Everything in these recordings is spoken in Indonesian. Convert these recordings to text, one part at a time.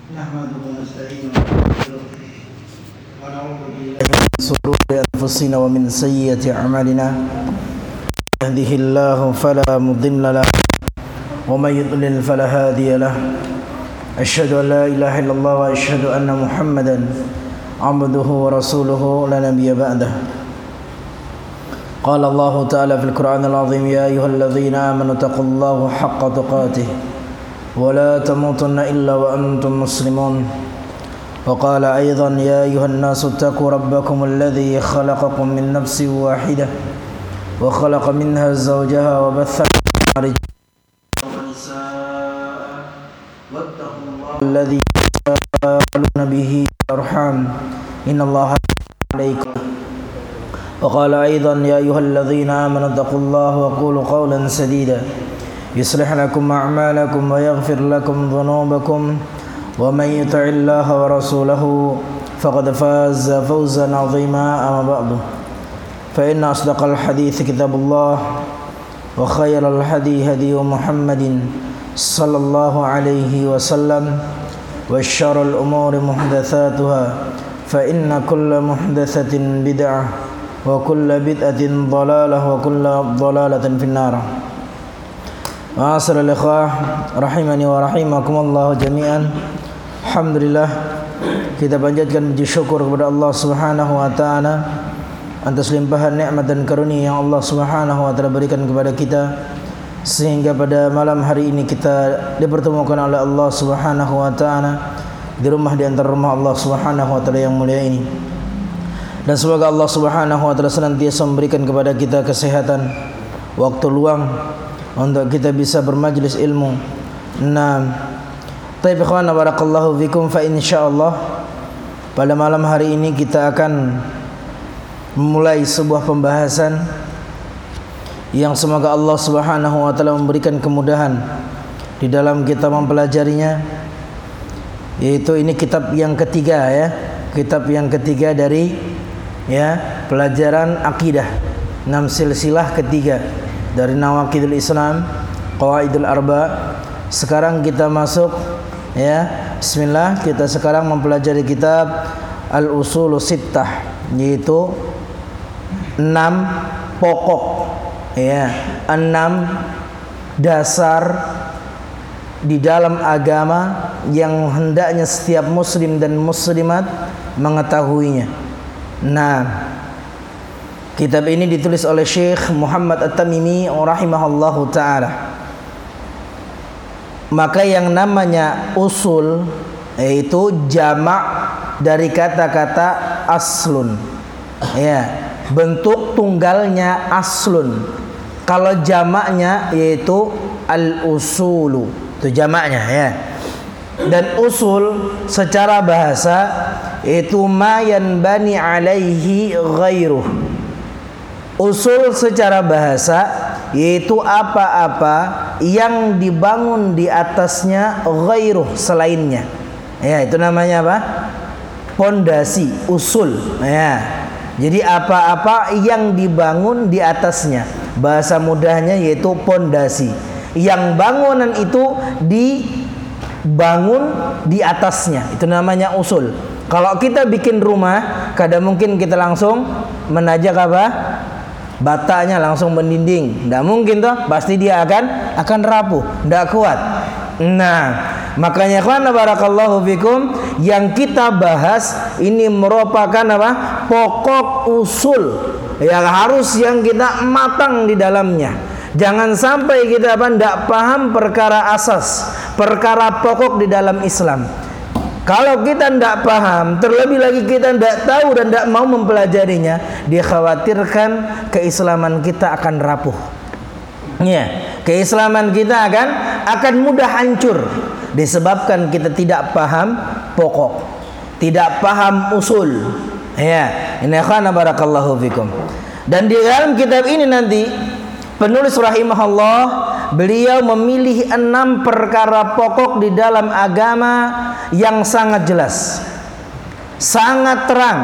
نحمده ونستعينه ونستغفره ونعوذ بالله من شرور أنفسنا ومن سيئات أعمالنا يهده الله فلا مضل له ومن يضلل فلا هادي له أشهد أن لا إله إلا الله وأشهد أن محمدا عبده ورسوله لا نبي بعده قال الله تعالى في القرآن العظيم يا أيها الذين آمنوا اتقوا الله حق تقاته ولا تموتن إلا وأنتم مسلمون وقال أيضا يا أيها الناس اتقوا ربكم الذي خلقكم من نفس واحدة وخلق منها زوجها وبث منهما رجالا ونساء واتقوا الله الذي تساءلون به والأرحام إن الله عليكم وقال أيضا يا أيها الذين آمنوا اتقوا الله وقولوا قولا سديدا يصلح لكم أعمالكم ويغفر لكم ذنوبكم ومن يطع الله ورسوله فقد فاز فوزا عظيما أما بعد فإن أصدق الحديث كتاب الله وخير الهدي هدي محمد صلى الله عليه وسلم وشر الأمور محدثاتها فإن كل محدثة بدعة وكل بدعة ضلالة وكل ضلالة في النار. Ma'asyiral ikhwah rahimani wa rahimakumullah jami'an. Alhamdulillah, kita panjatkan puji syukur kepada Allah Subhanahu wa taala atas limpahan nikmat dan karunia yang Allah Subhanahu wa taala berikan kepada kita sehingga pada malam hari ini kita dipertemukan oleh Allah Subhanahu wa taala di rumah di antara rumah Allah Subhanahu wa taala yang mulia ini. Dan semoga Allah Subhanahu wa taala senantiasa memberikan kepada kita kesehatan, waktu luang untuk kita bisa bermajlis ilmu. Nah, taib ikhwan barakallahu fikum, fa insyaallah pada malam hari ini kita akan memulai sebuah pembahasan yang semoga Allah Subhanahu wa taala memberikan kemudahan di dalam kita mempelajarinya, yaitu ini kitab yang ketiga ya, kitab yang ketiga dari pelajaran akidah, 6 silsilah ketiga dari Nawaqidul Islam, Qawaidul Arba. Sekarang kita masuk bismillah, kita sekarang mempelajari kitab Al-Usulus Sittah, yaitu 6 pokok 6 dasar di dalam agama yang hendaknya setiap muslim dan muslimat mengetahuinya. Nah, kitab ini ditulis oleh Syekh Muhammad At-Tamimi rahimahullahu ta'ala. Maka yang namanya usul yaitu jamak dari kata-kata aslun. Bentuk tunggalnya aslun. Kalau jamaknya yaitu al-usulu. Itu jamaknya Dan usul secara bahasa itu ma yanbani alaihi ghairuh. Usul secara bahasa yaitu apa-apa yang dibangun di atasnya ghairuh, selainnya. Itu namanya apa? Pondasi, usul. Jadi apa-apa yang dibangun di atasnya. Bahasa mudahnya yaitu pondasi. Yang bangunan itu dibangun di atasnya. Itu namanya usul. Kalau kita bikin rumah, kadang mungkin kita langsung menajak apa? Batanya langsung mendinding. Tidak mungkin toh, pasti dia akan rapuh, tidak kuat. Nah, makanya ikhwan barakallahu fikum, yang kita bahas ini merupakan apa? Pokok usul yang harus yang kita matang di dalamnya. Jangan sampai kita tidak paham perkara asas, perkara pokok di dalam Islam. Kalau kita tidak paham, terlebih lagi kita tidak tahu dan tidak mau mempelajarinya, dikhawatirkan keislaman kita akan rapuh. Keislaman kita akan mudah hancur disebabkan kita tidak paham pokok, tidak paham usul. Ini khana barakallahu fikum. Dan di dalam kitab ini nanti penulis rahimahullah, beliau memilih 6 perkara pokok di dalam agama yang sangat jelas, sangat terang.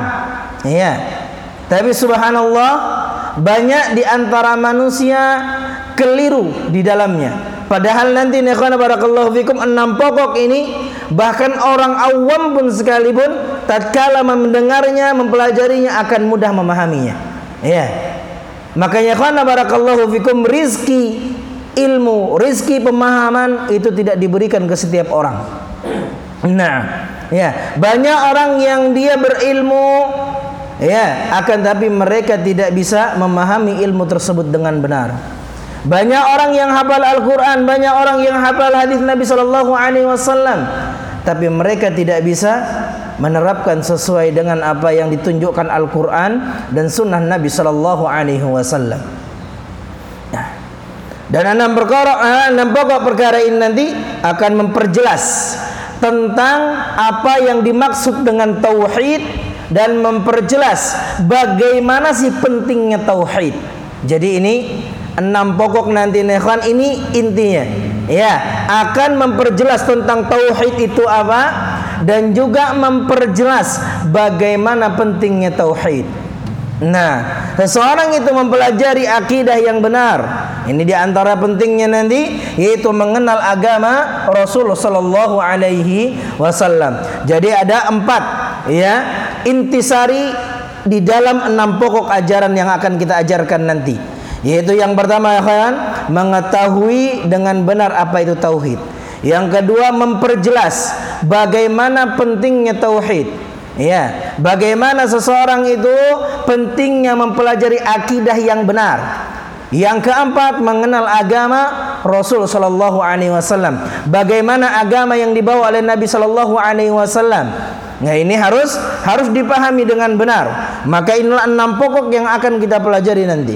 Tapi subhanallah, banyak di antara manusia keliru di dalamnya. Padahal nanti ikhwan barakallahu fikum 6 pokok ini bahkan orang awam pun sekalipun tatkala mendengarnya, mempelajarinya akan mudah memahaminya. Ya. Makanya ikhwan barakallahu fikum, rizki ilmu, rizki pemahaman itu tidak diberikan ke setiap orang. Nah, ya, banyak orang yang dia berilmu, ya, akan tapi mereka tidak bisa memahami ilmu tersebut dengan benar. Banyak orang yang hafal Al-Quran, banyak orang yang hafal hadis Nabi Sallallahu Alaihi Wasallam, tapi mereka tidak bisa menerapkan sesuai dengan apa yang ditunjukkan Al-Quran dan Sunnah Nabi Sallallahu Alaihi Wasallam. Dan 6 pokok perkara ini nanti akan memperjelas tentang apa yang dimaksud dengan tauhid dan memperjelas bagaimana sih pentingnya tauhid. Jadi ini 6 pokok nanti ikhwan, ini intinya, ya, akan memperjelas tentang tauhid itu apa dan juga memperjelas bagaimana pentingnya tauhid. Nah, seseorang itu mempelajari akidah yang benar. Ini diantara pentingnya nanti, yaitu mengenal agama Rasulullah Sallallahu Alaihi Wasallam. Jadi ada 4, ya, intisari di dalam 6 pokok ajaran yang akan kita ajarkan nanti. Yaitu yang pertama, kan, mengetahui dengan benar apa itu tauhid. Yang kedua, memperjelas bagaimana pentingnya tauhid. Ya, bagaimana seseorang itu pentingnya mempelajari akidah yang benar. Yang keempat, mengenal agama Rasul Sallallahu Alaihi Wasallam. Bagaimana agama yang dibawa oleh Nabi Sallallahu Alaihi Wasallam. Nah, ini harus dipahami dengan benar. Maka inilah 6 pokok yang akan kita pelajari nanti.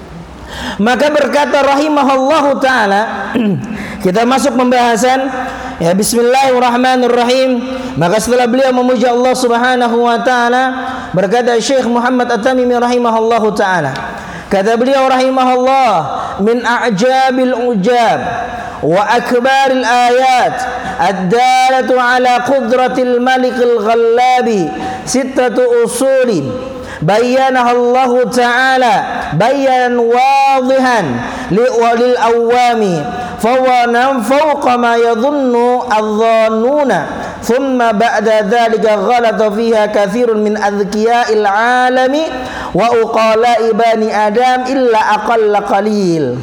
Maka berkata rahimahullahu ta'ala, kita masuk pembahasan, ya, bismillahirrahmanirrahim. Maka setelah beliau memuji Allah subhanahu wa ta'ala, berkata Syekh Muhammad At-Tamimi rahimahullahu ta'ala, kata beliau rahimahullah, min a'jabil ujab wa akbaril ayat ad-dalatu ala qudratil malikil ghallabi sittatu usulin bayyanaha Allah Ta'ala bayanan wadihan lil awami fawana fawqa ma yadhunnu adh-dhannuna thumma ba'da dhalika ghalata fiha kathirun min adhkiya'il alami wa uqala'i bani adam illa aqalla qalil.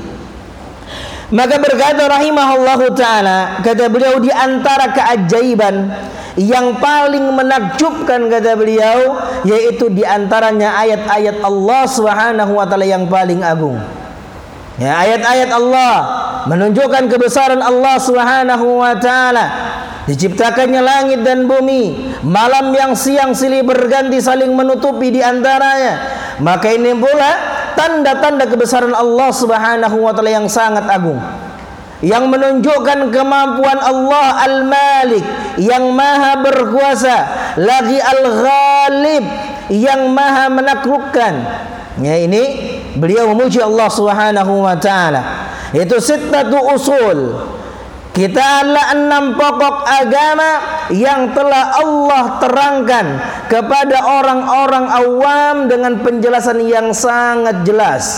Maka berkata rahimahullahu ta'ala, kata beliau, di antara keajaiban yang paling menakjubkan, kata beliau, yaitu di antaranya ayat-ayat Allah Subhanahu wa taala yang paling agung. Ya, ayat-ayat Allah menunjukkan kebesaran Allah Subhanahu wa taala. Diciptakannya langit dan bumi, malam yang siang silih berganti saling menutupi di antaranya. Maka ini pula tanda-tanda kebesaran Allah Subhanahu wa taala yang sangat agung, yang menunjukkan kemampuan Allah Al-Malik yang maha berkuasa, lagi Al-Ghalib yang maha menaklukkan. Ya, ini beliau memuji Allah Subhanahu wa taala. Itu sittatu usul. Kita adalah 6 pokok agama yang telah Allah terangkan kepada orang-orang awam dengan penjelasan yang sangat jelas,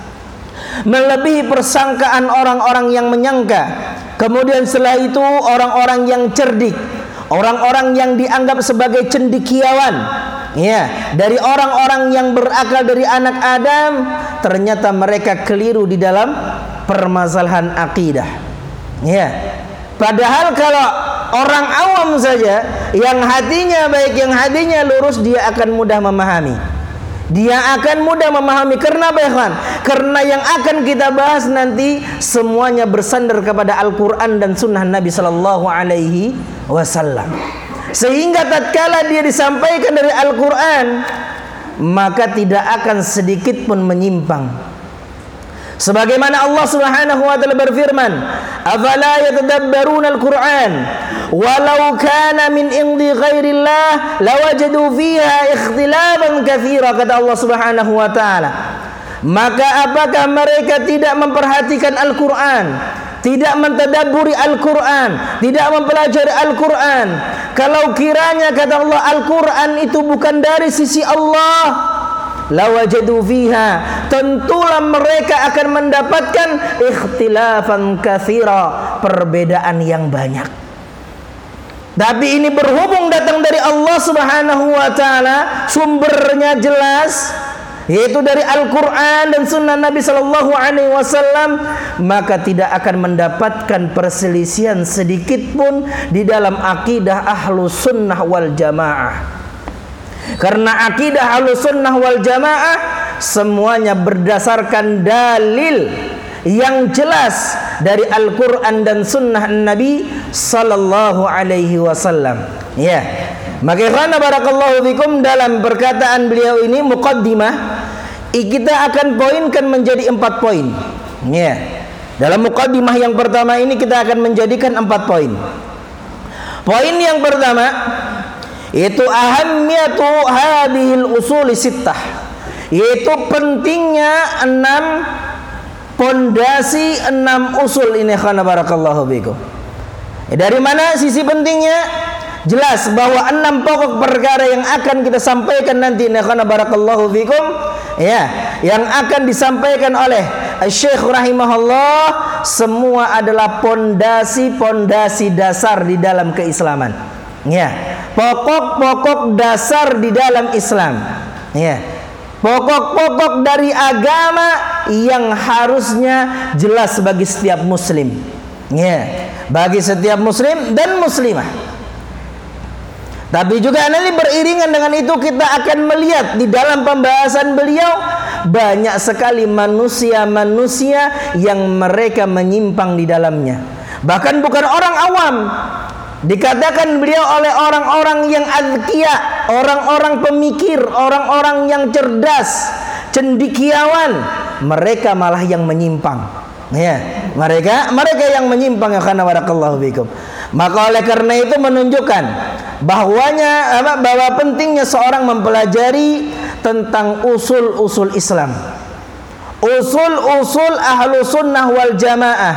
melebihi persangkaan orang-orang yang menyangka. Kemudian setelah itu orang-orang yang cerdik, orang-orang yang dianggap sebagai cendekiawan, ya, dari orang-orang yang berakal dari anak Adam, ternyata mereka keliru di dalam permasalahan akidah. Ya, padahal kalau orang awam saja yang hatinya baik, yang hatinya lurus, dia akan mudah memahami. Dia akan mudah memahami. Karena apa, ya, karena yang akan kita bahas nanti semuanya bersandar kepada Al-Quran dan Sunnah Nabi Sallallahu Alaihi Wasallam. Sehingga tatkala dia disampaikan dari Al-Quran, maka tidak akan sedikit pun menyimpang. Sebagaimana Allah Subhanahu wa taala berfirman, "Afala yatadabbaruna al-Qur'an walau kana min indi ghairillah lawajadu fiha ikhtilafan katsira," kata Allah Subhanahu wa taala. Maka apakah mereka tidak memperhatikan Al-Qur'an, tidak mentadabburi Al-Qur'an, tidak mempelajari Al-Qur'an? Kalau kiranya, kata Allah, Al-Qur'an itu bukan dari sisi Allah, lawajadu fiha, tentulah mereka akan mendapatkan ikhtilafan katsira, perbedaan yang banyak. Tapi ini berhubung datang dari Allah Subhanahu wa taala, sumbernya jelas, yaitu dari Al-Quran dan Sunnah Nabi Sallallahu Alaihi Wasallam, maka tidak akan mendapatkan perselisihan sedikit pun di dalam akidah Ahlus Sunnah wal Jamaah. Karena akidah Ahlus Sunnah wal Jamaah semuanya berdasarkan dalil yang jelas dari Al-Quran dan Sunnah Nabi Sallallahu Alaihi Wasallam. Ya, maka karena barakallahu fikum, dalam perkataan beliau ini muqaddimah, kita akan poinkan menjadi 4 poin. Ya, dalam muqaddimah yang pertama ini kita akan menjadikan 4 poin. Poin yang pertama itu ahammiyatu hadhil usuli sittah, yaitu pentingnya 6 pondasi, 6 usul ini. Khana barakallahu fikum. Dari mana sisi pentingnya? Jelas bahwa 6 pokok perkara yang akan kita sampaikan nanti, khana barakallahu fikum, ya, yang akan disampaikan oleh Syekh rahimahullah, semua adalah pondasi-pondasi dasar di dalam keislaman. Ya, pokok-pokok dasar di dalam Islam. Ya, pokok-pokok dari agama yang harusnya jelas bagi setiap muslim. Ya, bagi setiap muslim dan muslimah. Tapi juga nanti beriringan dengan itu kita akan melihat di dalam pembahasan beliau banyak sekali manusia-manusia yang mereka menyimpang di dalamnya. Bahkan bukan orang awam. Dikatakan beliau oleh orang-orang yang azkiya, orang-orang pemikir, orang-orang yang cerdas, cendekiawan, mereka malah yang menyimpang. Ya, mereka yang menyimpang, ya kana barakallahu fikum. Maka oleh karena itu menunjukkan bahwa pentingnya seorang mempelajari tentang usul-usul Islam, usul-usul Ahlus Sunnah wal Jamaah,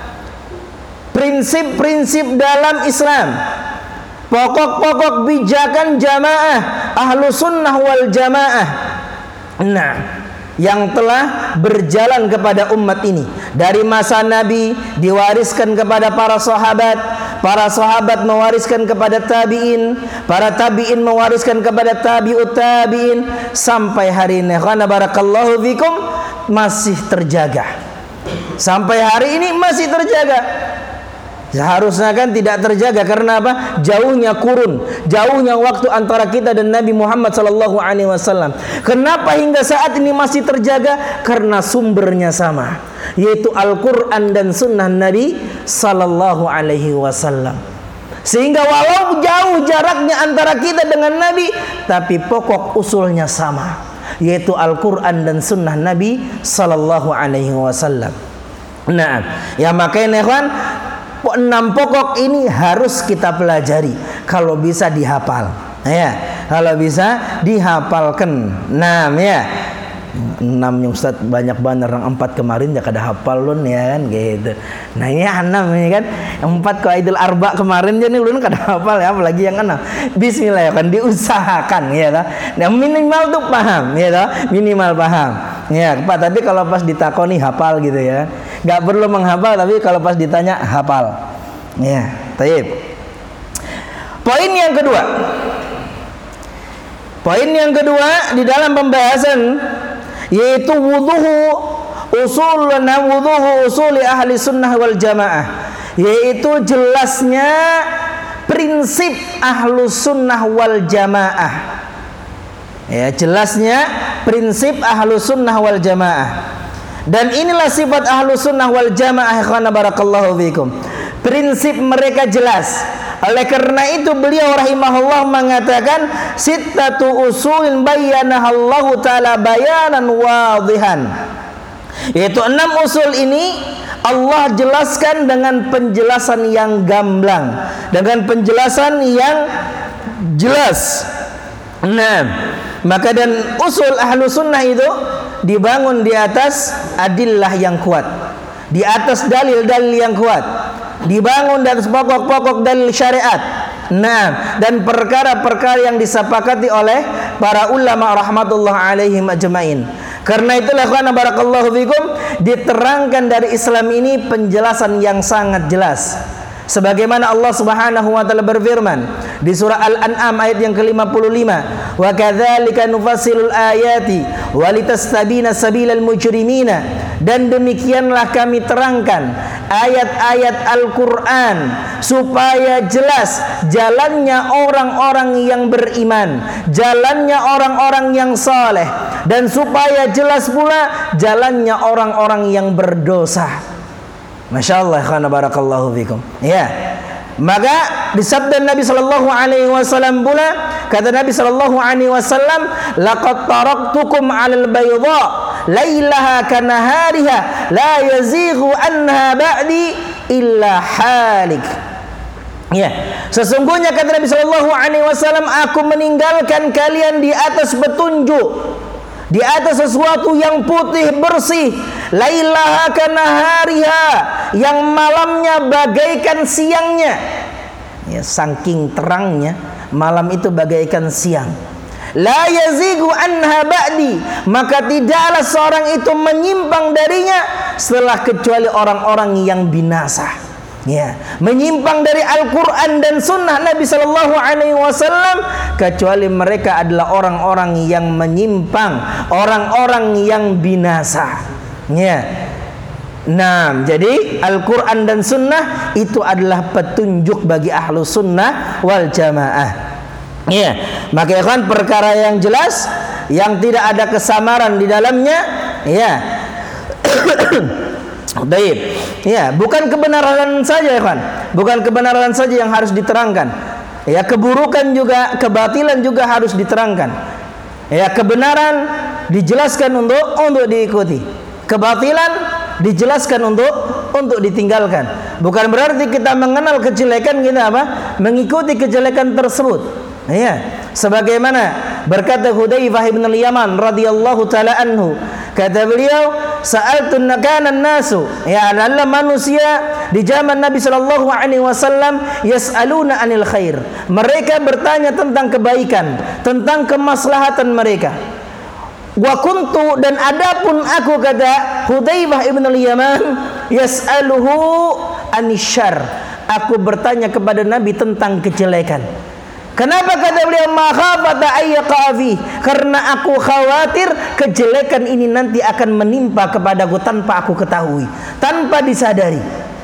prinsip-prinsip dalam Islam, pokok-pokok bijakan jamaah Ahlus Sunnah wal Jamaah, nah, yang telah berjalan kepada umat ini dari masa Nabi, diwariskan kepada para sahabat mewariskan kepada tabi'in, para tabi'in mewariskan kepada tabi'ut tabi'in, sampai hari ini khana barakallahu fikum masih terjaga. Sampai hari ini masih terjaga. Seharusnya kan tidak terjaga, karena apa? Jauhnya kurun, jauhnya waktu antara kita dan Nabi Muhammad sallallahu alaihi wasallam. Kenapa hingga saat ini masih terjaga? Karena sumbernya sama, yaitu Al-Qur'an dan Sunnah Nabi sallallahu alaihi wasallam. Sehingga walau jauh jaraknya antara kita dengan Nabi, tapi pokok usulnya sama, yaitu Al-Qur'an dan Sunnah Nabi sallallahu alaihi wasallam. Nah, ya makanya ikhwan, 6 pokok ini harus kita pelajari kalau bisa dihafal. Ya, kalau bisa dihafalkan. 6 ya. 6 yang Ustaz banyak banget, orang 4 kemarin ya kada hafal lun ya kan gitu. Nah ini 6 ini kan, yang 4 Qaidul Arba kemarin jadi lun kada hafal ya, apalagi yang 6. Bismillah ya kan, diusahakan ya toh. Nah, minimal tuh paham ya toh, minimal paham. Ya, Pak, tapi kalau pas ditakoni hafal gitu ya. Enggak perlu menghafal, tapi kalau pas ditanya hafal. Ya, taib. Poin yang kedua. Poin yang kedua di dalam pembahasan yaitu usuli ahli sunnah wal jamaah, yaitu jelasnya prinsip ahlus sunnah wal jamaah. Ya, jelasnya prinsip ahlus sunnah wal jamaah. Dan inilah sifat ahlus sunnah wal jamaah, ikhwana barakallahu fikum. Prinsip mereka jelas. Oleh karena itu beliau rahimahullah mengatakan sittatu usulin bayyanahallahu ta'ala bayanan wadihan, yaitu 6 usul ini Allah jelaskan dengan penjelasan yang gamblang, dengan penjelasan yang jelas. Nah, maka dan usul ahlu sunnah itu dibangun di atas adillah yang kuat, di atas dalil-dalil yang kuat, dibangun di atas pokok-pokok dalil syariat. Nah, dan perkara-perkara yang disepakati oleh para ulama rahmatullah alaihim ajmain. Karena itulah ikhwan barakallahu fikum, diterangkan dari Islam ini penjelasan yang sangat jelas. Sebagaimana Allah Subhanahu wa taala berfirman di surah Al-An'am ayat yang ke-55, "Wa kadzalika nufassilul ayati wa litastabina sabilal mujrimina." Dan demikianlah kami terangkan ayat-ayat Al-Qur'an supaya jelas jalannya orang-orang yang beriman, jalannya orang-orang yang saleh, dan supaya jelas pula jalannya orang-orang yang berdosa. Masya Allah, khana barakallahu fikum. Ya, maka disabda Nabi sallallahu alaihi wasallam pula, kata Nabi sallallahu alaihi wasallam, laqad taraktukum 'alal bayda lailaha kanahariha la yazighu anha ba'di illa halik. Ya, sesungguhnya kata Nabi sallallahu alaihi wasallam, aku meninggalkan kalian di atas petunjuk, di atas sesuatu yang putih bersih, lailaha kanahariha, yang malamnya bagaikan siangnya. Ya, saking terangnya malam itu bagaikan siang. La yazigu anha ba'di, maka tidaklah seorang itu menyimpang darinya setelah kecuali orang-orang yang binasa. Ya, menyimpang dari Al-Quran dan Sunnah Nabi Sallallahu Alaihi Wasallam, kecuali mereka adalah orang-orang yang menyimpang, orang-orang yang binasa. Ya, nah, jadi Al-Quran dan Sunnah itu adalah petunjuk bagi ahlu sunnah wal jamaah. Ya, maka kan perkara yang jelas, yang tidak ada kesamaran di dalamnya. Ya. Baik. Ya, bukan kebenaran saja ya kan. Bukan kebenaran saja yang harus diterangkan. Ya, keburukan juga, kebatilan juga harus diterangkan. Ya, kebenaran dijelaskan untuk diikuti. Kebatilan dijelaskan untuk ditinggalkan. Bukan berarti kita mengenal kejelekan, kita apa? Mengikuti kejelekan tersebut. Ya, sebagaimana berkata Hudzaifah bin al-Yaman radhiyallahu taala anhu, kata beliau, sa'altun nakana nasu, ya adalah manusia di zaman Nabi sallallahu alaihi wasallam, yas'aluna anil khair, mereka bertanya tentang kebaikan, tentang kemaslahatan mereka. Wa kuntu, dan adapun aku, kata Hudzaifah ibn al-Yaman, yas'aluhu anisyar, aku bertanya kepada Nabi tentang kejelekan. Kenapa kata beliau makhafata ayyaqafi? Karena aku khawatir kejelekan ini nanti akan menimpa kepadaku tanpa aku ketahui, tanpa disadari.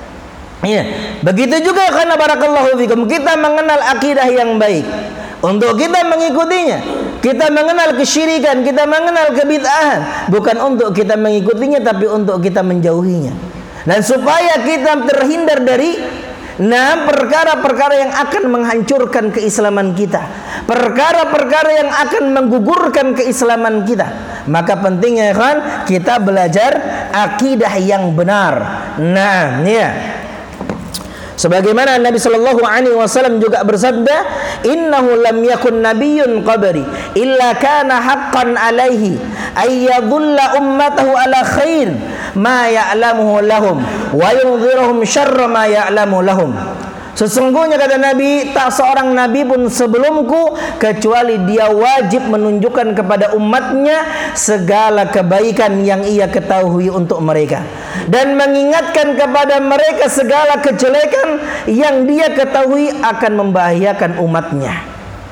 Ya, begitu juga karena barakallahu fikum, kita mengenal akidah yang baik untuk kita mengikutinya. Kita mengenal kesyirikan, kita mengenal kebid'ahan, bukan untuk kita mengikutinya tapi untuk kita menjauhinya. Dan supaya kita terhindar dari perkara-perkara yang akan menghancurkan keislaman kita, perkara-perkara yang akan menggugurkan keislaman kita, maka pentingnya kan kita belajar akidah yang benar. Nah, ya. Sebagaimana Nabi sallallahu alaihi wasallam juga bersabda, "Innahu lam yakun nabiyyun qabri illa kana haqqan alaihi ay yadhulla ummatahu ala khair ma ya'lamuhu lahum wa yunziruhum syarra ma ya'lamu lahum." Sesungguhnya kata Nabi, tak seorang nabi pun sebelumku kecuali dia wajib menunjukkan kepada umatnya segala kebaikan yang ia ketahui untuk mereka, dan mengingatkan kepada mereka segala kejelekan yang dia ketahui akan membahayakan umatnya.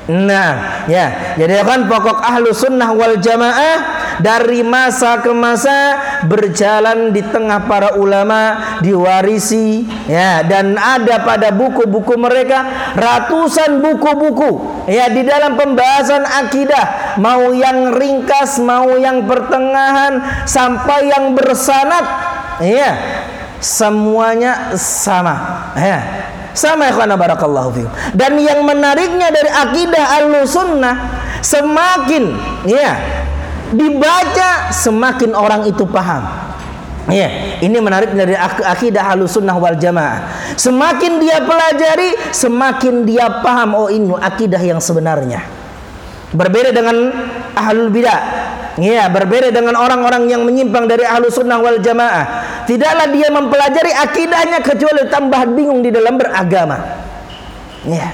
Nah, ya, jadi kan pokok ahlu sunnah wal jamaah dari masa ke masa berjalan di tengah para ulama, diwarisi, ya, dan ada pada buku-buku mereka ratusan buku-buku, ya, di dalam pembahasan akidah, mau yang ringkas, mau yang pertengahan, sampai yang bersanad, ya, semuanya sama, ya. Sama, ikhwana barakallahu fikum. Dan yang menariknya dari akidah Ahlussunnah, semakin ya dibaca semakin orang itu paham. Ya, ini menarik dari akidah Ahlussunnah wal Jamaah. Semakin dia pelajari, semakin dia paham, oh ini akidah yang sebenarnya. Berbeda dengan ahlul bidah. Ya, berbeda dengan orang-orang yang menyimpang dari Ahlussunnah wal Jamaah. Tidaklah dia mempelajari akidahnya kecuali tambah bingung di dalam beragama. Ya.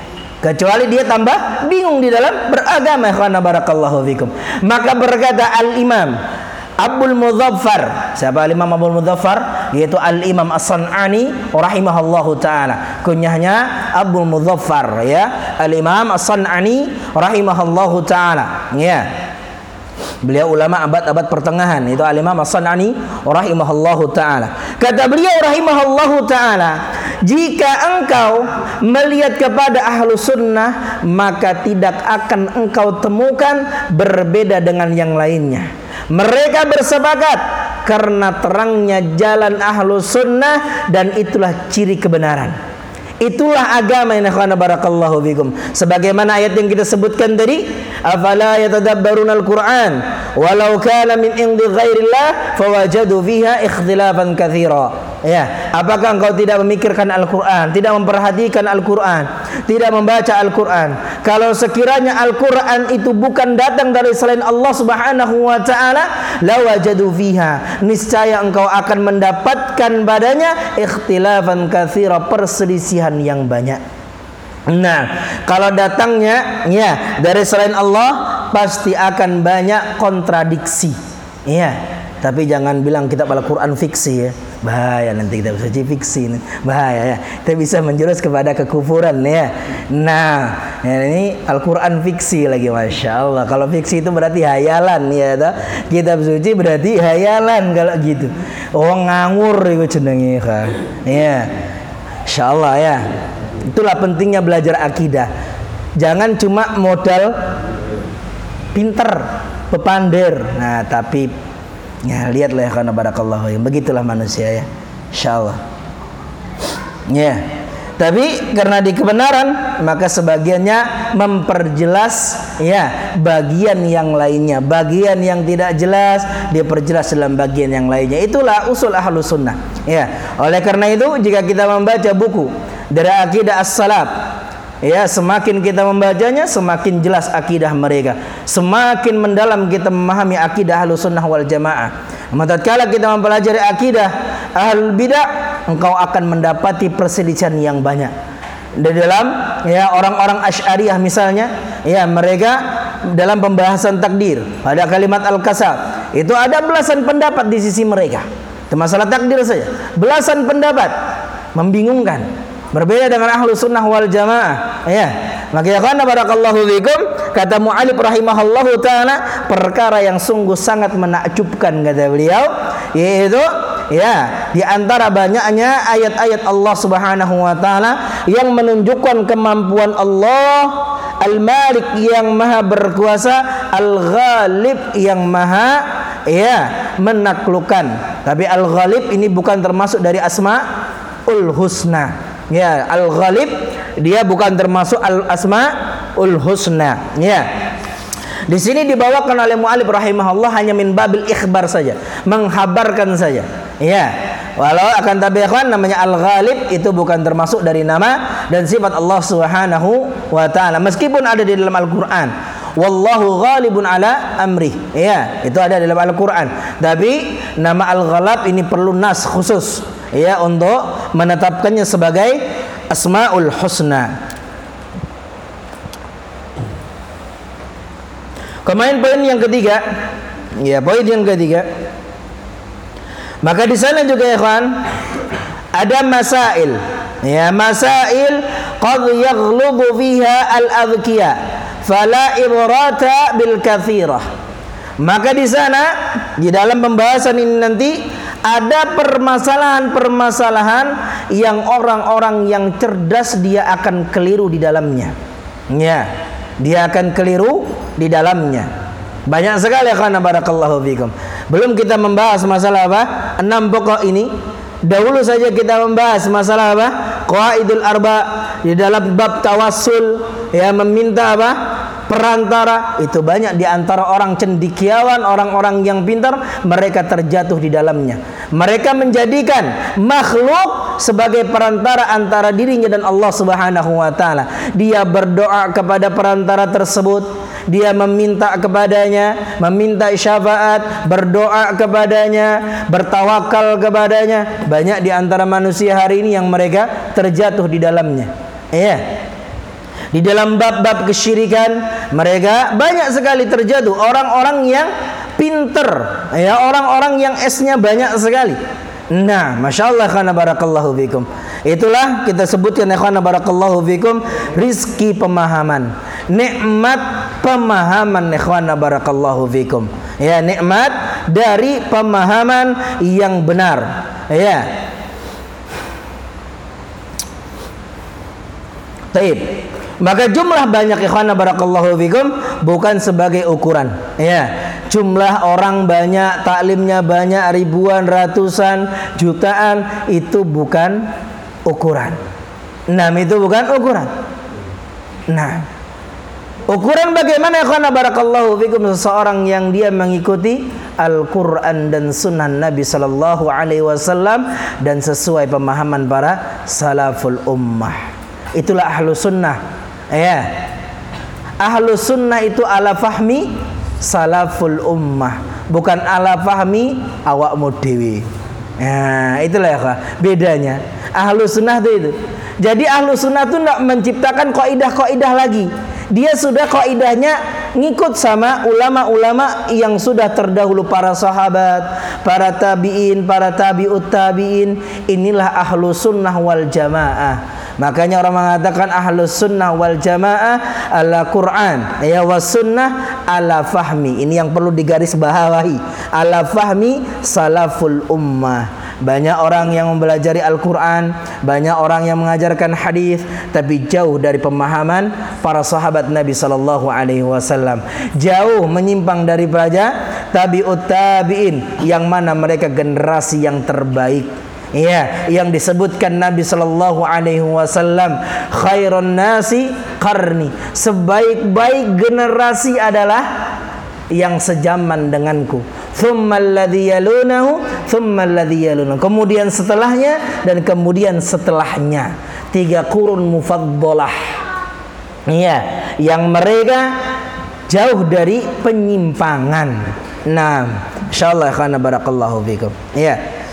kecuali dia tambah bingung di dalam beragama. Ikhwan barakallahu fikum. Maka berkata Al-Imam Abul Mudzaffar. Siapa Al-Imam Abul Mudzaffar? Yaitu Al-Imam As-San'ani rahimahullahu taala. Kunyahnya Abul Mudzaffar, ya. Al-Imam As-San'ani rahimahullahu taala, ya. Beliau ulama abad-abad pertengahan. Itu Al-Imam As-San'ani rahimahullahu taala. Kata beliau rahimahullahu taala, jika engkau melihat kepada ahlu sunnah, maka tidak akan engkau temukan berbeda dengan yang lainnya. Mereka bersepakat karena terangnya jalan ahlu sunnah, dan itulah ciri kebenaran. Itulah agama yang akhwana barakallahu fikum. Sebagaimana ayat yang kita sebutkan tadi, afala yatadabbarunal Qur'an walau kana min indi ghairillah fawajadu fiha ikhtilafan katsira. Ya, apakah engkau tidak memikirkan Al-Qur'an, tidak memperhatikan Al-Qur'an, tidak membaca Al-Qur'an? Kalau sekiranya Al-Qur'an itu bukan datang dari selain Allah Subhanahu wa taala, lawajadu fiha, niscaya engkau akan mendapatkan padanya ikhtilafan katsira, perselisihan yang banyak. Nah, kalau datangnya ya dari selain Allah, pasti akan banyak kontradiksi. Iya, tapi jangan bilang kitab Al-Qur'an fiksi, ya. Bahaya nanti kita bisa fiksi, bahaya, ya. Kita bisa menjurus kepada kekufuran, ya. Nah, ya, ini Al-Qur'an fiksi lagi, masya Allah. Kalau fiksi itu berarti hayalan, ya. Kitab suci berarti hayalan kalau gitu. Oh, nganggur itu jenenge, kan. Ya, insya Allah, ya. Itulah pentingnya belajar akidah. Jangan cuma modal pinter, pepander. Nah, tapi ya lihatlah ya karena barakallahu ya. Begitulah manusia, ya. Insyaallah. Ya. Tapi karena di kebenaran, maka sebagiannya memperjelas ya bagian yang lainnya. Bagian yang tidak jelas diperjelas dalam bagian yang lainnya. Itulah usul ahlus sunnah. Ya. Oleh karena itu, jika kita membaca buku dari akidah as-salaf, ya, semakin kita membacanya, semakin jelas akidah mereka, semakin mendalam kita memahami akidah Ahlus Sunnah wal Jamaah. Namun tatkala kita mempelajari akidah Ahlul Bidah, engkau akan mendapati perselisihan yang banyak. Di dalam ya orang-orang Asy'ariyah misalnya, ya, mereka dalam pembahasan takdir pada kalimat al-kasab, itu ada belasan pendapat di sisi mereka. Itu masalah takdir saja, belasan pendapat, membingungkan. Berbeda dengan ahlu sunnah wal jamaah, ya. Maka ya karena barakallahu fikum, kata mu'alif rahimahullahu ta'ala, perkara yang sungguh sangat menakjubkan, kata beliau, yaitu ya di antara banyaknya ayat-ayat Allah Subhanahu wa taala yang menunjukkan kemampuan Allah Al-Malik yang maha berkuasa, Al-Ghalib yang maha ya menaklukkan. Tapi Al-Ghalib ini bukan termasuk dari Asmaul Husna. Ya, Al-Ghalib dia bukan termasuk Al-Asmaul Husna. Ya. Di sini dibawakan oleh mu'alif rahimahullah hanya min babil ikhbar saja, menghabarkan saja. Ya. Walau akan tapi ikhwan, namanya Al-Ghalib itu bukan termasuk dari nama dan sifat Allah Subhanahu wa taala, meskipun ada di dalam Al-Qur'an. Wallahu ghalibun ala amri. Ya, itu ada dalam Al-Qur'an. Tapi nama Al-Ghalab ini perlu nas khusus, ya, untuk menetapkannya sebagai Asmaul Husna. Kemudian poin yang ketiga, ya, poin yang ketiga. Maka di sana juga ya kawan, ada masail, ya, masail qad yaghlubu fiha al-adhkiya fala ibrata bil kathirah. Maka di sana, di dalam pembahasan ini nanti ada permasalahan-permasalahan yang orang-orang yang cerdas dia akan keliru di dalamnya. Ya, dia akan keliru di dalamnya. Banyak sekali karena barakallahu fikum. Belum kita membahas masalah apa? 6 pokok ini. Dahulu saja kita membahas masalah apa? Qawaidul arba di dalam bab tawassul, ya, meminta apa? Perantara. Itu banyak di antara orang cendekiawan, orang-orang yang pintar, mereka terjatuh di dalamnya. Mereka menjadikan makhluk sebagai perantara antara dirinya dan Allah Subhanahu wa taala. Dia berdoa kepada perantara tersebut, dia meminta kepadanya, meminta syafaat, berdoa kepadanya, bertawakal kepadanya. Banyak di antara manusia hari ini yang mereka terjatuh di dalamnya. Iya. Di dalam bab-bab kesyirikan mereka banyak sekali terjatuh orang-orang yang pinter, ya, orang-orang yang S-nya banyak sekali. Nah, Masya Allah, khana barakallahu fikum. Itulah kita sebutkan, ya khana barakallahu fikum, rizki pemahaman, nikmat pemahaman, ya khana barakallahu fikum. Ya, nikmat dari pemahaman yang benar. Ya. Taib. Maka jumlah banyak, ikhwana barakallahu fikum, bukan sebagai ukuran. Ya, jumlah orang banyak, taklimnya banyak, ribuan, ratusan, jutaan, itu bukan ukuran. Nah, itu bukan ukuran. Nah, ukuran bagaimana, ikhwana barakallahu fikum, seseorang yang dia mengikuti Al-Quran dan Sunnah Nabi Sallallahu Alaihi Wasallam dan sesuai pemahaman para salaful ummah. Itulah ahlu sunnah. Ya, ahlu sunnah itu ala fahmi salaful ummah, bukan ala fahmi awakmu dewi. Nah, itulah ya, bedanya. Ahlu sunnah itu. Jadi ahlu sunnah itu tidak menciptakan kaidah-kaidah lagi. Dia sudah kaidahnya ngikut sama ulama-ulama yang sudah terdahulu, para sahabat, para tabi'in, para tabi'ut tabi'in. Inilah ahlu sunnah wal jamaah. Makanya orang mengatakan ahlus sunnah wal jamaah ala Quran, ya, was sunnah ala fahmi. Ini yang perlu digaris bawahi, ala fahmi salaful ummah. Banyak orang yang mempelajari Al-Quran, banyak orang yang mengajarkan hadis, tapi jauh dari pemahaman para sahabat Nabi Sallallahu Alaihi Wasallam, jauh menyimpang daripada tabi'ut tabi'in, yang mana mereka generasi yang terbaik. Ya, yang disebutkan Nabi Sallallahu Alaihi Wasallam, khairun nasi qarni, sebaik-baik generasi adalah yang sejaman denganku. Tsummal ladzi yalunahu, tsummal ladzi yalunahu. Kemudian setelahnya dan kemudian setelahnya. 3 qurun mufaddalah. Ya, yang mereka jauh dari penyimpangan. Nah, insyaallah khana barakallahu fikum. Ya.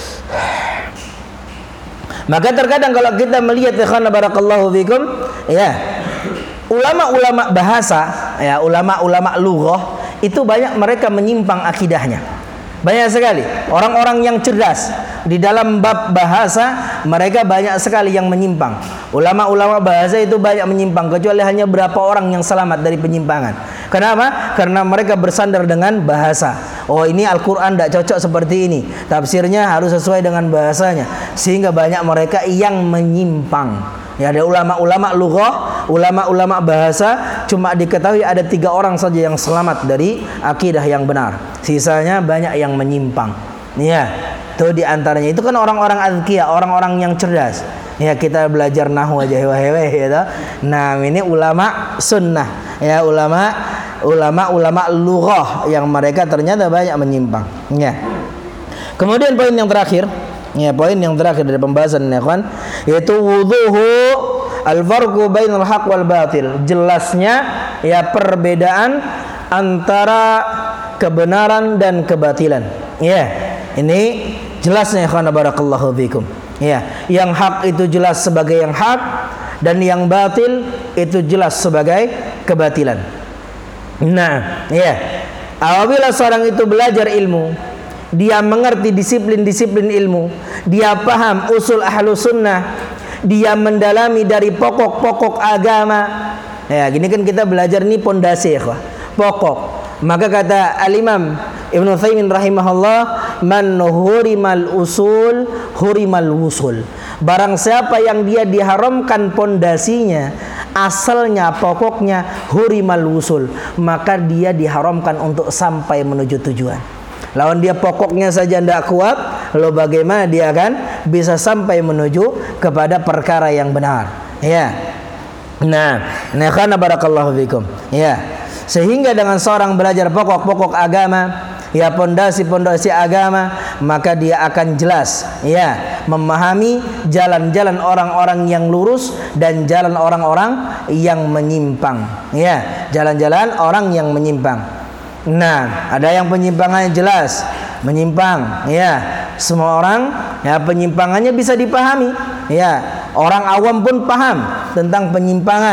Maka terkadang kalau kita melihat, ikhwan barakallahu fikum, ya, ulama-ulama bahasa, ya, ulama-ulama lughah itu banyak mereka menyimpang akidahnya. Banyak sekali orang-orang yang cerdas di dalam bab bahasa, mereka banyak sekali yang menyimpang. Ulama-ulama bahasa itu banyak menyimpang, kecuali hanya berapa orang yang selamat dari penyimpangan. Kenapa? Karena mereka bersandar dengan bahasa. Oh, ini Al-Quran tidak cocok seperti ini, tafsirnya harus sesuai dengan bahasanya, sehingga banyak mereka yang menyimpang. Ya, ada ulama-ulama lughah, ulama-ulama bahasa, cuma diketahui ada 3 orang saja yang selamat dari akidah yang benar, sisanya banyak yang menyimpang. Ya, itu diantaranya itu kan orang-orang azkiya, orang-orang yang cerdas. Ya, kita belajar nahwu aja hewe-hewe, ya. Nah, ini ulama sunnah, ya, ulama lughah yang mereka ternyata banyak menyimpang. Ya. Kemudian poin yang terakhir, ya, poin yang terakhir dari pembahasan, ya kawan, yaitu wudhuhu al-farqu bainal haq wal batil. Jelasnya, ya, perbedaan antara kebenaran dan kebatilan. Ya, ini jelasnya, ya kawan, barakallahu fikum. Ya, yang hak itu jelas sebagai yang hak, dan yang batil itu jelas sebagai kebatilan. Nah, ya, apabila seorang itu belajar ilmu, dia mengerti disiplin-disiplin ilmu, dia paham usul ahlu sunnah, dia mendalami dari pokok-pokok agama. Ya, gini kan kita belajar nih pondasi, ya, pokok. Maka kata Al-Imam Ibn Utsaimin rahimahullah, man hurimal usul hurimal wusul. Barang siapa yang dia diharamkan pondasinya, asalnya, pokoknya, hurimal wusul, maka dia diharamkan untuk sampai menuju tujuan. Lawan dia pokoknya saja tidak kuat, lalu bagaimana dia akan bisa sampai menuju kepada perkara yang benar. Ya. Nah, khana barakallahu fikum. Ya. Sehingga dengan seorang belajar pokok-pokok agama, ya, pondasi-pondasi agama, maka dia akan jelas, ya, memahami jalan-jalan orang-orang yang lurus dan jalan orang-orang yang menyimpang. Ya, jalan-jalan orang yang menyimpang. Nah, ada yang penyimpangannya jelas, menyimpang, ya. Semua orang, ya, penyimpangannya bisa dipahami. Ya, orang awam pun paham tentang penyimpangan.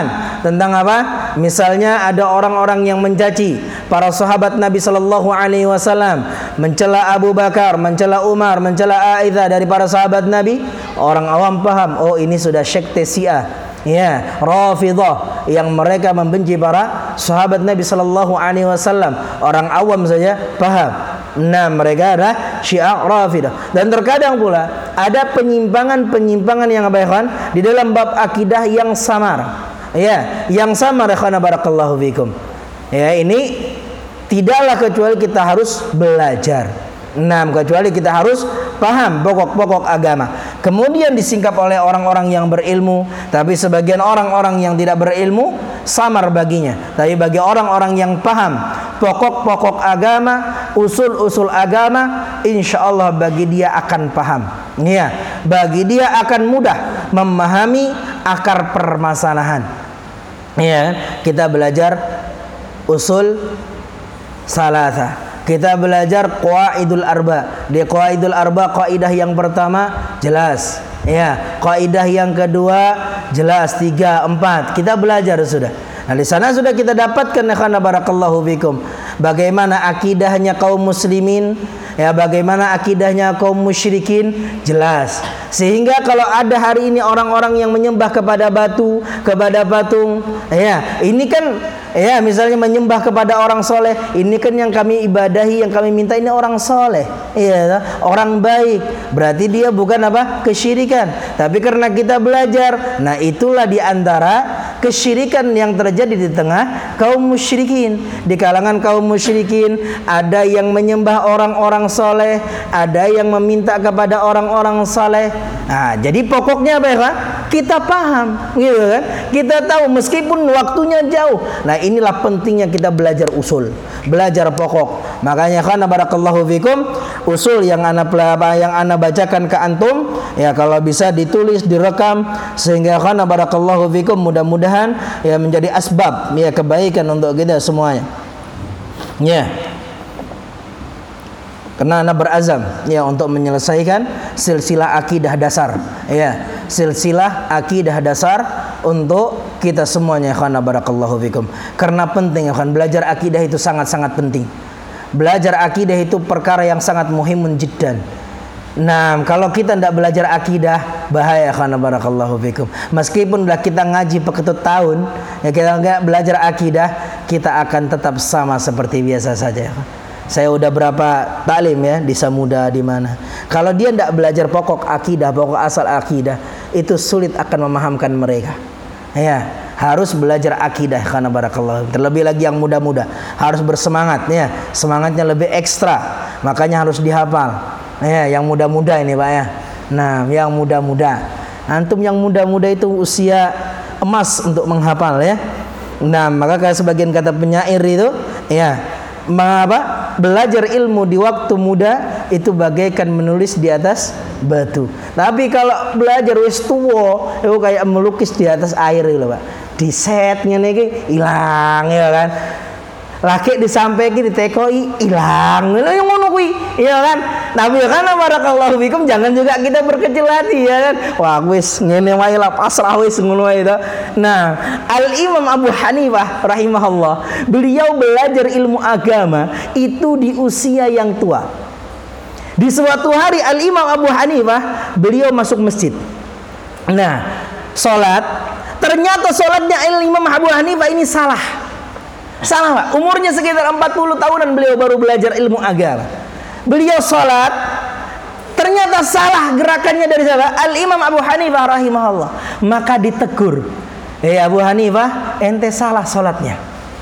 tentang apa? Misalnya ada orang-orang yang mencaci para sahabat Nabi sallallahu alaihi wasallam, mencela Abu Bakar, mencela Umar, mencela Aisyah dari para sahabat Nabi. Orang awam paham, oh ini sudah sekte Syiah, ya, Rafidhah, yang mereka membenci para sahabat Nabi sallallahu alaihi wasallam. Orang awam saja paham. Nah, mereka adalah Syiah Rafidah. Dan terkadang pula ada penyimpangan-penyimpangan yang di dalam bab akidah yang samar. Ya, yang samar, ikhwan barakallahu fikum. Ya, ini tidaklah kecuali kita harus belajar. Nah, kecuali kita harus paham pokok-pokok agama. Kemudian disingkap oleh orang-orang yang berilmu, tapi sebagian orang-orang yang tidak berilmu samar baginya. Tapi bagi orang-orang yang paham pokok-pokok agama, usul-usul agama, insya Allah bagi dia akan paham. Ya, bagi dia akan mudah memahami akar permasalahan. Ya, kita belajar usul salasa. Kita belajar qawaidul arba. Di qawaidul arba, kaidah yang pertama jelas, ya. Kaidah yang kedua jelas, 3, 4. Kita belajar sudah. Nah, di sana sudah kita dapatkan, ikhwan barakallahu fikum, bagaimana akidahnya kaum muslimin, ya, bagaimana akidahnya kaum musyrikin, jelas. Sehingga kalau ada hari ini orang-orang yang menyembah kepada batu, kepada patung, ya, ini kan, ya, misalnya menyembah kepada orang soleh, ini kan yang kami ibadahi, yang kami minta ini orang soleh, ya, orang baik. Berarti dia bukan apa? Kesyirikan. Tapi karena kita belajar, nah itulah diantara kesyirikan yang terjadi di tengah kaum musyrikin. Di kalangan kaum musyrikin ada yang menyembah orang-orang soleh, ada yang meminta kepada orang-orang soleh. Nah, jadi pokoknya apa ya? Kita paham, gitu kan? Kita tahu meskipun waktunya jauh. Nah, inilah pentingnya kita belajar usul, belajar pokok. Makanya kan barakallahu fikum, usul yang ana bacakan ke antum, ya, kalau bisa ditulis, direkam, sehingga kan barakallahu fikum mudah-mudahan ya menjadi asbab, ya, kebaikan untuk kita semuanya. Ya. Karena ana berazam, ya, untuk menyelesaikan silsilah akidah dasar, ya, silsilah akidah dasar untuk kita semuanya, ikhwan barakallahu fikum. Karena penting, ikhwan, belajar akidah itu sangat-sangat penting. Belajar akidah itu perkara yang sangat muhimun jiddan. Nah, kalau kita tidak belajar akidah, bahaya, ikhwan barakallahu fikum. Meskipun kita ngaji peketut tahun, ya, kita enggak belajar akidah, kita akan tetap sama seperti biasa saja. Saya udah berapa taklim, ya, di Samuda, di mana. Kalau dia tidak belajar pokok akidah, pokok asal akidah, itu sulit akan memahamkan mereka. Ya, harus belajar akidah, karena barakallah. Terlebih lagi yang muda-muda harus bersemangat, ya, semangatnya lebih ekstra, makanya harus dihafal. Ya, yang muda-muda ini, Pak, ya. Nah, yang muda-muda, antum yang muda-muda itu usia emas untuk menghafal, ya. Nah, maka kayak sebagian kata penyair itu, ya, belajar ilmu di waktu muda itu bagaikan menulis di atas batu. Tapi kalau belajar wis tuwa, itu kayak melukis di atas air gitu, Pak. Di setnya nih hilang, ya kan. Laki disampaikan ditekoi hilang. Lha yang ngono kuwi, ya kan. Tapi kan barakallahu fikum, jangan juga kita berkecil hati, ya kan. Wah, wis ngene wae lah, pasrah wis ngono wae to. Nah, Al-Imam Abu Hanifah rahimahullah, beliau belajar ilmu agama itu di usia yang tua. Di suatu hari Al-Imam Abu Hanifah, beliau masuk masjid. Nah, salat, ternyata salatnya Al-Imam Abu Hanifah ini salah. Salah, Pak. Umurnya sekitar 40 tahunan beliau baru belajar ilmu agama. Beliau sholat, ternyata salah gerakannya dari siapa? Al-Imam Abu Hanifah rahimahullah. Maka ditegur, Abu Hanifah, ente salah sholatnya.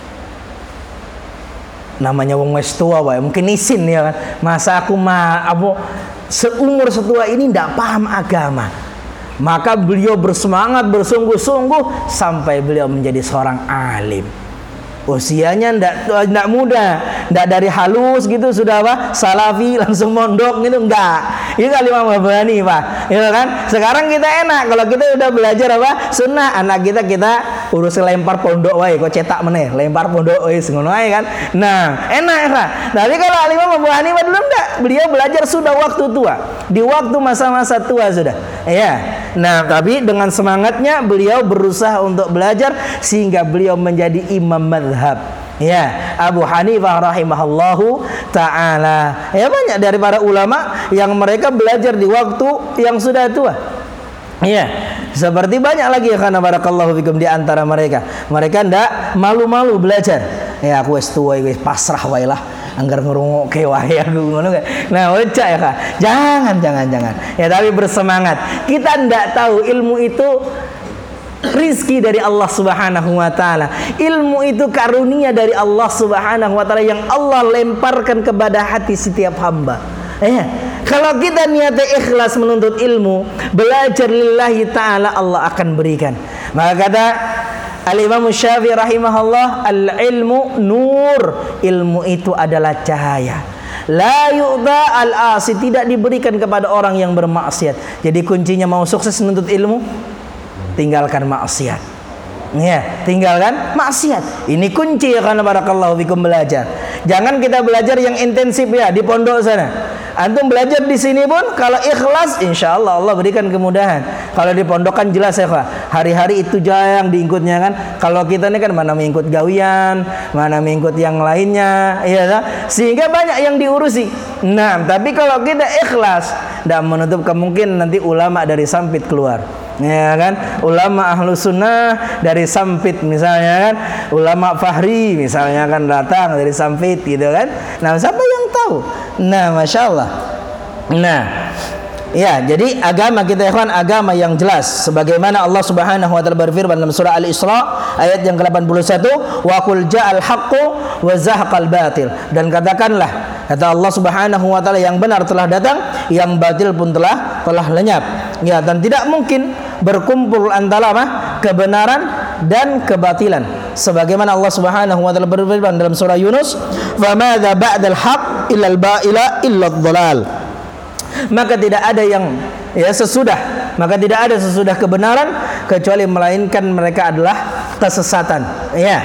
Namanya wong wis tua, Pak, mungkin isin, ya kan. Masa aku seumur setua ini tidak paham agama. Maka beliau bersemangat, bersungguh-sungguh sampai beliau menjadi seorang alim. Usianya tidak muda, tidak dari halus gitu sudah salafi langsung mondok gitu, enggak. Itu Imam Abu Hanifah, ya kan? Sekarang kita enak kalau kita udah belajar sunnah, anak kita urus lempar pondok wae, kok cetak meneh, lempar pondok wae ngono wae kan. Nah, enak kan? Tapi kalau Imam Abu Hanifah dulu enggak, beliau belajar sudah waktu tua, di waktu masa-masa tua sudah. Ya. Nah, tapi dengan semangatnya beliau berusaha untuk belajar sehingga beliau menjadi imam mazhab. Ya, Abu Hanifah rahimahullahu ta'ala. Ya, banyak dari para ulama yang mereka belajar di waktu yang sudah tua. Ya, seperti banyak lagi ya, karena barakallahu fikum di antara mereka. Mereka ndak malu-malu belajar. Ya, aku wis tua, wis pasrah wae lah. Anggar ngrungokke wae aku ngono kan. Nah, oca ya Kak. Jangan. Ya, tapi bersemangat. Kita ndak tahu ilmu itu rizki dari Allah Subhanahu wa taala. Ilmu itu karunia dari Allah Subhanahu wa taala yang Allah lemparkan kepada hati setiap hamba. Kalau kita niatnya ikhlas menuntut ilmu, belajar lillahi ta'ala, Allah akan berikan. Maka kata Al-Imam Syafi'i rahimahullah, al-ilmu nur, ilmu itu adalah cahaya. La yu'ta al-asi, tidak diberikan kepada orang yang bermaksiat. Jadi kuncinya mau sukses menuntut ilmu, tinggalkan maksiat. Ya, tinggalkan maksiat. Ini kunci ya, karena barakallahu fikum belajar. Jangan kita belajar yang intensif ya di pondok sana. Antum belajar di sini pun kalau ikhlas, insya Allah Allah berikan kemudahan. Kalau di pondok kan jelas ya Pak, hari-hari itu jarang diikutnya kan. Kalau kita ini kan mana mengikut gawian, mana mengikut yang lainnya, ya kan? Sehingga banyak yang diurusi. Nah, tapi kalau kita ikhlas, tidak menutup kemungkinan nanti ulama dari Sampit keluar. Ya kan, ulama ahlu sunnah dari Sampit misalnya kan, ulama Fahri misalnya kan datang dari Sampit gitu kan. Nah, siapa yang tahu? Nah, masya Allah. Nah, ya, jadi agama kita ikhwan, agama yang jelas sebagaimana Allah Subhanahu wa taala berfirman dalam surah Al-Isra ayat yang ke-81, wa qul ja'al haqqu wa zahaqal batil, dan katakanlah, kata Allah Subhanahu wa taala, yang benar telah datang, yang batil pun telah lenyap. Ya, dan tidak mungkin berkumpul antara kebenaran dan kebatilan. Sebagaimana Allah Subhanahu wa taala berfirman dalam surah Yunus, "Fa madza ba'dal haqq illa al-ba'ila illa ad-dhalal." Maka tidak ada yang tidak ada sesudah kebenaran kecuali melainkan mereka adalah kesesatan. Ya.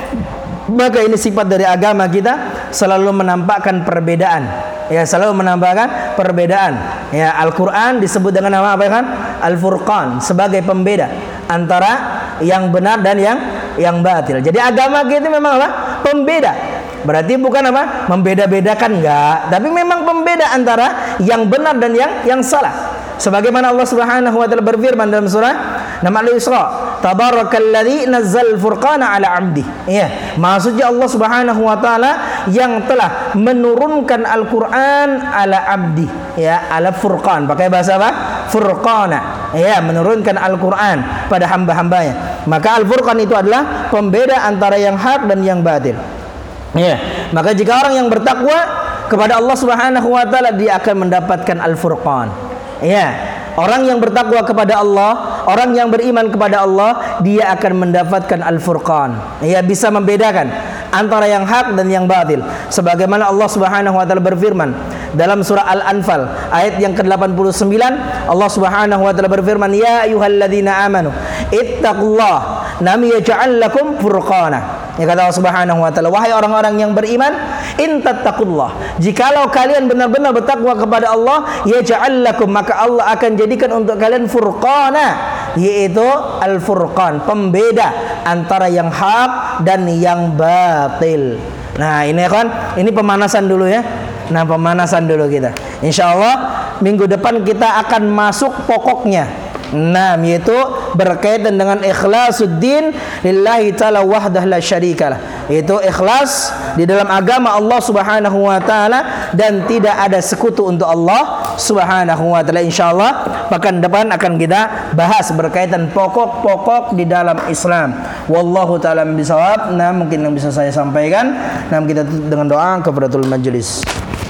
Maka ini sifat dari agama kita, selalu menampakkan perbedaan. Ya, selalu menampakkan perbedaan. Ya, Al-Qur'an disebut dengan nama apa kan? Al-Furqan, sebagai pembeda antara yang benar dan yang batil. Jadi agama kita memang apa? Pembeda. Berarti bukan apa? Membeda-bedakan, enggak, tapi memang pembeda antara yang benar dan yang salah. Sebagaimana Allah Subhanahu wa taala berfirman dalam surah Al-Isra, "Tabarakalladzi nazzal furqana 'ala 'abdi." Ya, maksudnya Allah Subhanahu wa taala yang telah menurunkan Al-Qur'an 'ala 'abdi, ya, 'ala furqan, pakai bahasa apa? Furqana. Ya, menurunkan Al-Qur'an pada hamba-hambanya. Maka Al-Furqan itu adalah pembeda antara yang hak dan yang batil. Ya, maka jika orang yang bertakwa kepada Allah Subhanahu wa taala, dia akan mendapatkan Al-Furqan. Ya, orang yang bertakwa kepada Allah, orang yang beriman kepada Allah, dia akan mendapatkan Al-Furqan. Ya, bisa membedakan antara yang hak dan yang batil. Sebagaimana Allah Subhanahu wa taala berfirman dalam surah Al-Anfal ayat yang ke-89, Allah Subhanahu wa taala berfirman, "Ya ayyuhalladzina amanu ittaqullaha nam yaj'al lakum furqana." Ya, kata Allah Subhanahu wa taala, wahai orang-orang yang beriman, in tattaqullah, jikalau kalian benar-benar bertakwa kepada Allah, yaj'al lakum, maka Allah akan jadikan untuk kalian furqana, yaitu al-furqan, pembeda antara yang hak dan yang batil. Nah, ini kan, ini pemanasan dulu ya. Nah, pemanasan dulu kita. Insyaallah minggu depan kita akan masuk pokoknya. Nah, yaitu berkaitan dengan ikhlasuddin lillahi ta'ala wahdah la syarikalah. Itu ikhlas di dalam agama Allah Subhanahu wa taala dan tidak ada sekutu untuk Allah Subhanahu wa taala. Insyaallah pekan depan akan kita bahas berkaitan pokok-pokok di dalam Islam. Wallahu taala bisawab. Nah, mungkin yang bisa saya sampaikan. Nah, kita tutup dengan doa kafaratul majelis.